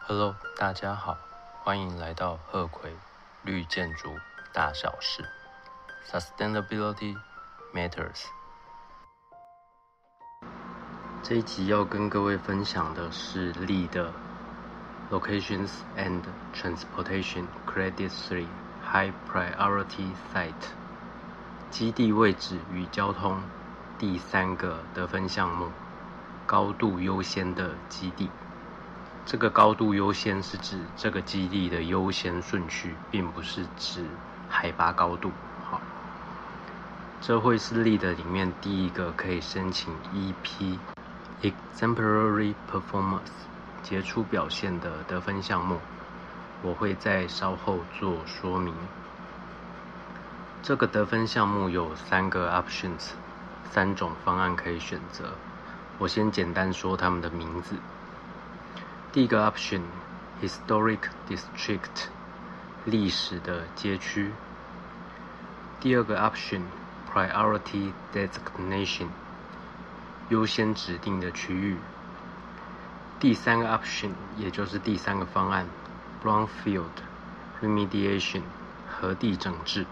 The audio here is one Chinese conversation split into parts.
Hello， 大家好，欢迎来到鹤葵绿建筑大小事 Sustainability Matters。这一集要跟各位分享的是LEED的 Locations and Transportation Credit 3 High Priority Site 基地位置与交通第3个得分项目，高度优先的基地。这个高度优先是指这个基地的优先顺序，并不是指海拔高度。好，这会是LEED里面第一个可以申请 EP Exemplary Performance 杰出表现的得分项目，我会在稍后做说明。这个得分项目有3个 options， 3种方案可以选择。我先简单说他们的名字。第一个 option Historic District 历史的街区。第二个 option Priority Designation 优先指定的区域。第三个 option 也就是第3个方案 Brownfield Remediation 核地整治。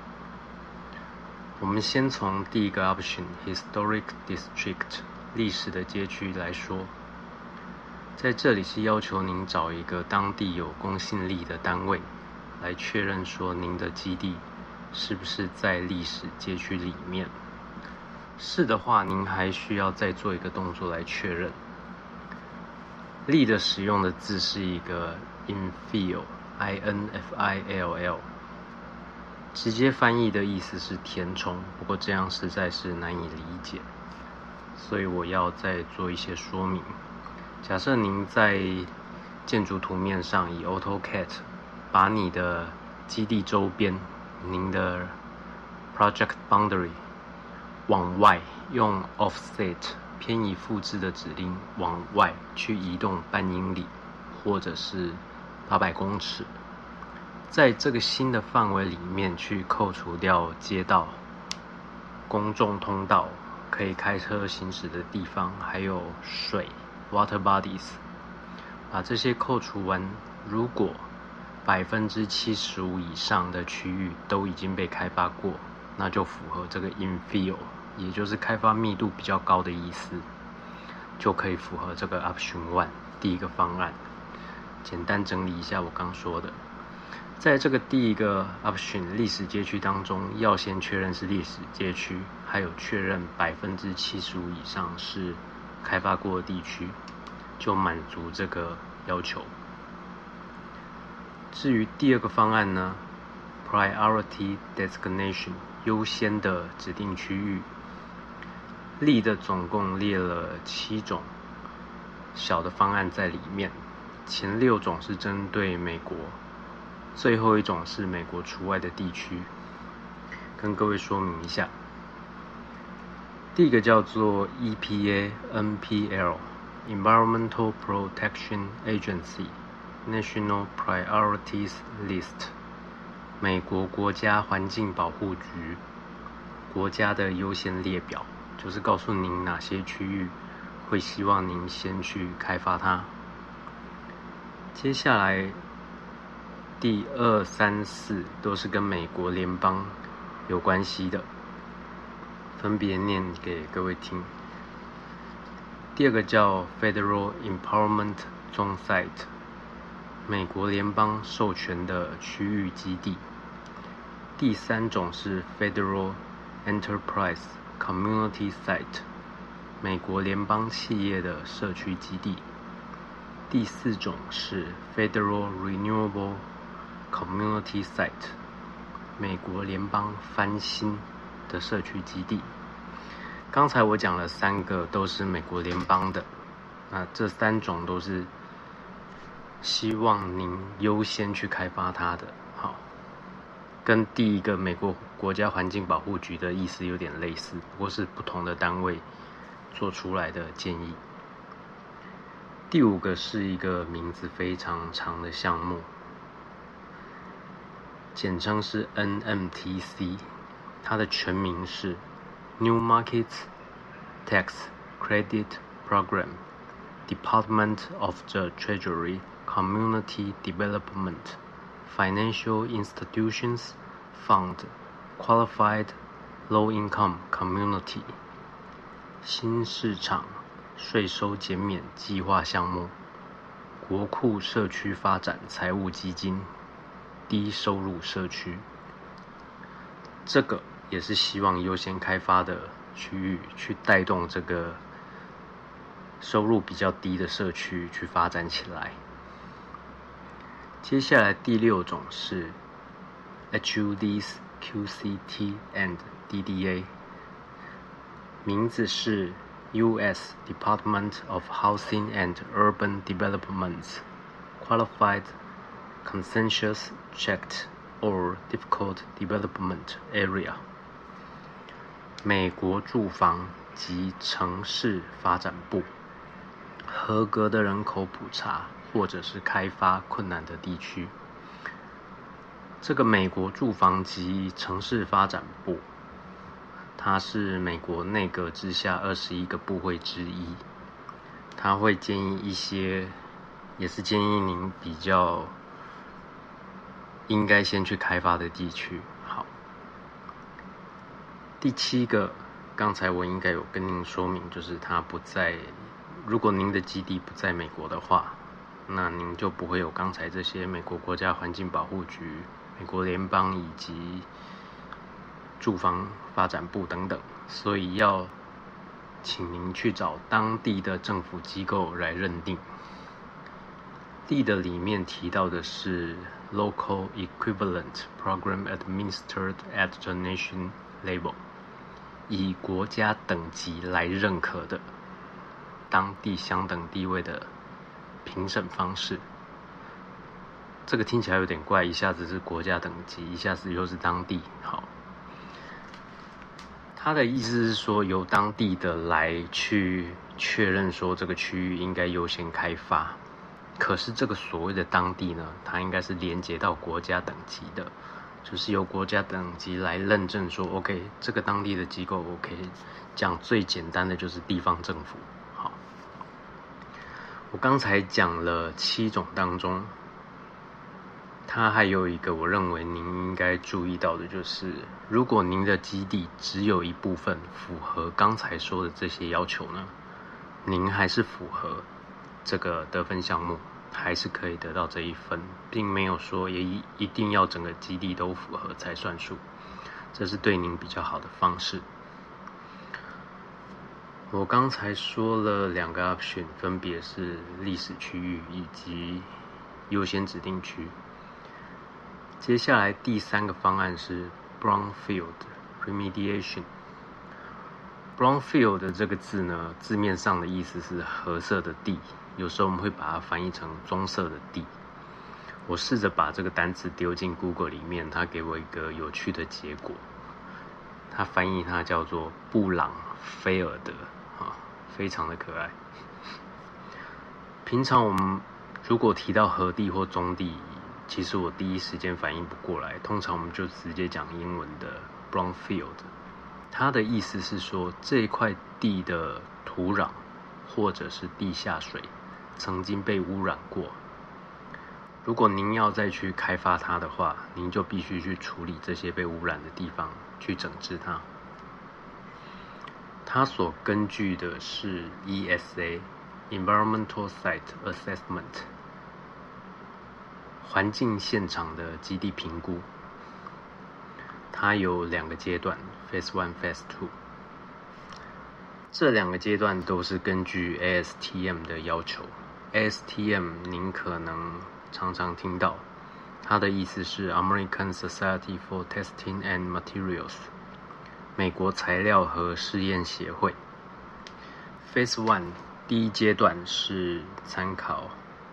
我们先从第一个 option Historic District 历史的街区来说，在这里是要求您找一个当地有公信力的单位来确认说您的基地是不是在历史街区里面。是的话，您还需要再做一个动作来确认。LEED使用的字是一个 infill INFILL， 直接翻译的意思是填充，不过这样实在是难以理解，所以我要再做一些说明。假设您在建筑图面上以 AutoCAD 把你的基地周边，您的 Project Boundary 往外用 Offset 偏移复制的指令往外去移动半英里或者是800公尺，在这个新的范围里面去扣除掉街道、公众通道、可以开车行驶的地方，还有水Water bodies， 把这些扣除完，如果 75% 以上的区域都已经被开发过，那就符合这个 infill， 也就是开发密度比较高的意思，就可以符合这个 option 1 第一个方案。简单整理一下我刚说的，在这个第一个 option 历史街区当中，要先确认是历史街区，还有确认 75% 以上是开发过的地区，就满足这个要求。至于第二个方案呢， Priority Designation 优先的指定区域，LEED总共列了7种小的方案在里面，前6种是针对美国，最后1种是美国除外的地区，跟各位说明一下。第一个叫做 EPA NPL Environmental Protection Agency National Priorities List 美国国家环境保护局国家的优先列表，就是告诉您哪些区域会希望您先去开发它。接下来第2、3、4都是跟美国联邦有关系的，分别念给各位听。第2个叫 Federal Empowerment Zone Site 美国联邦授权的区域基地。第3种是 Federal Enterprise Community Site 美国联邦企业的社区基地。第4种是 Federal Renewable Community Site 美国联邦翻新的社区基地。刚才我讲了3个都是美国联邦的，那这3种都是希望您优先去开发它的。好，跟第一个美国国家环境保护局的意思有点类似，不过是不同的单位做出来的建议。第5个是一个名字非常长的项目，简称是 NMTC， 它的全名是New Markets Tax Credit Program Department of the Treasury, Community Development, Financial Institutions Fund, Qualified Low-Income Community, 新市场税收减免计划项目，国库社区发展财务基金，低收入社区。这个也是希望优先开发的区域去带动这个收入比较低的社区去发展起来。接下来第6种是 HUDs, QCT and DDA， 名字是 U.S. Department of Housing and Urban Development's Qualified Consensus Checked or Difficult Development Area， 美国住房及城市发展部合格的人口普查或者是开发困难的地区。这个美国住房及城市发展部，它是美国内阁之下21个部会之一，它会建议一些，也是建议您比较应该先去开发的地区。好，第7个，刚才我应该有跟您说明，就是它不在，如果您的基地不在美国的话，那您就不会有刚才这些美国国家环境保护局、美国联邦以及住房发展部等等，所以要请您去找当地的政府机构来认定。D 的里面提到的是 Local Equivalent Program Administered at the Nation Level， 以国家等级来认可的当地相等地位的评审方式。这个听起来有点怪，一下子是国家等级，一下子又是当地。好，他的意思是说，由当地的来去确认说这个区域应该优先开发。可是这个所谓的当地呢，它应该是连接到国家等级的，就是由国家等级来认证说 OK， 这个当地的机构 OK。讲最简单的就是地方政府。好，我刚才讲了7种当中，它还有一个我认为您应该注意到的，就是如果您的基地只有一部分符合刚才说的这些要求呢，您还是符合这个得分项目，还是可以得到这1分，并没有说也一定要整个基地都符合才算数，这是对您比较好的方式。我刚才说了2个 option， 分别是历史区域以及优先指定区。接下来第3个方案是 Brownfield Remediation。Brownfield 这个字呢，字面上的意思是褐色的地，有时候我们会把它翻译成棕色的地。我试着把这个单词丢进 Google 里面，它给我一个有趣的结果。它翻译它叫做布朗菲尔德，非常的可爱。平常我们如果提到河地或棕地，其实我第一时间反应不过来，通常我们就直接讲英文的 Brownfield。它的意思是说，这一块地的土壤或者是地下水曾经被污染过，如果您要再去开发它的话，您就必须去处理这些被污染的地方，去整治它。它所根据的是 ESA Environmental Site Assessment 环境现场的基地评估。它有2个阶段 Phase 1 Phase 2， 这2个阶段都是根据 ASTM 的要求。 ASTM 您可能常常听到，它的意思是 American Society for Testing and Materials， 美国材料和试验协会。 Phase 1第1阶段是参考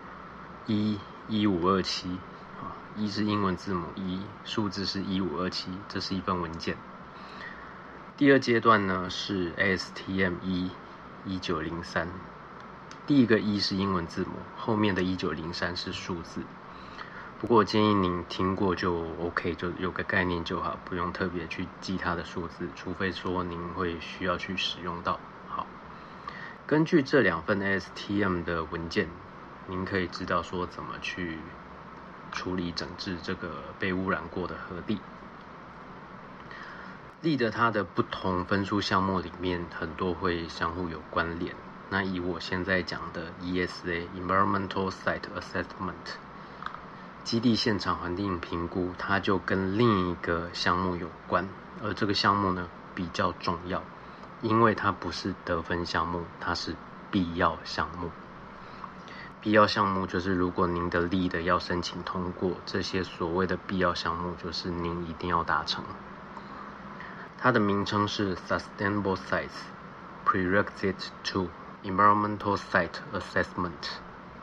1527，一是英文字母1，数字是1527，这是一份文件。第2阶段呢是 ASTM 1903，第一个1是英文字母，后面的1903是数字。不过我建议您听过就 OK， 就有个概念就好，不用特别去记它的数字，除非说您会需要去使用到。好， 根据这2份 ASTM 的文件，您可以知道说怎么去处理整治这个被污染过的河地。LEED它的不同分数项目里面很多会相互有关联。那以我现在讲的 ESA Environmental Site Assessment 基地现场环境评估，它就跟另一个项目有关，而这个项目呢比较重要，因为它不是得分项目，它是必要项目。必要项目就是如果您的LEED要申请通过，这些所谓的必要项目就是您一定要达成。它的名称是 Sustainable Sites Prerequisite to Environmental Site Assessment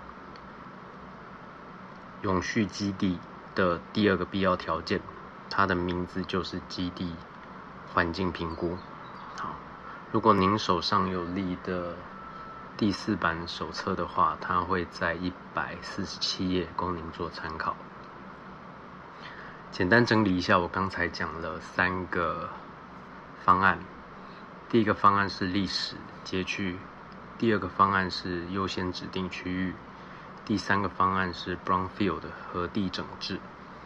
永续基地的第2个必要条件，它的名字就是基地环境评估。好，如果您手上有LEED的第4版手册的话，它会在147页供您做参考。简单整理一下，我刚才讲了3个方案。第1个方案是历史街区，第2个方案是优先指定区域，第3个方案是 Brownfield 的河地整治。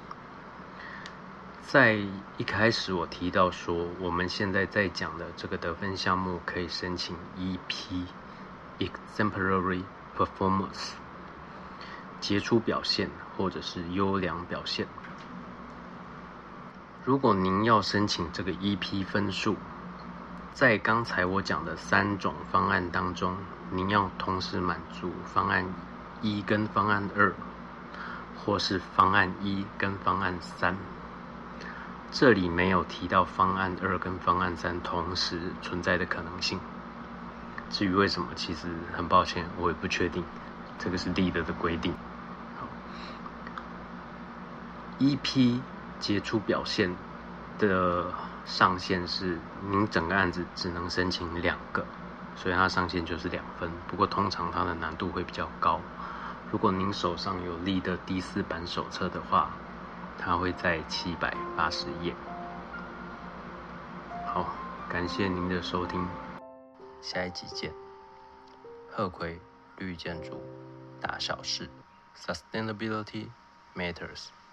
在一开始我提到说，我们现在在讲的这个得分项目可以申请 EP Exemplary Performance 杰出表现或者是优良表现。如果您要申请这个 EP 分数，在刚才我讲的3种方案当中，您要同时满足方案1跟方案2，或是方案1跟方案3。这里没有提到方案2跟方案3同时存在的可能性。至于为什么，其实很抱歉，我也不确定，这个是LEED的规定。好， EP 杰出表现的上限是您整个案子只能申请2个，所以它上限就是2分。不过通常它的难度会比较高。如果您手上有LEED的第4版手册的话，它会在780页。好，感谢您的收听，下一集见。鹤葵绿建筑大小事 ，Sustainability Matters。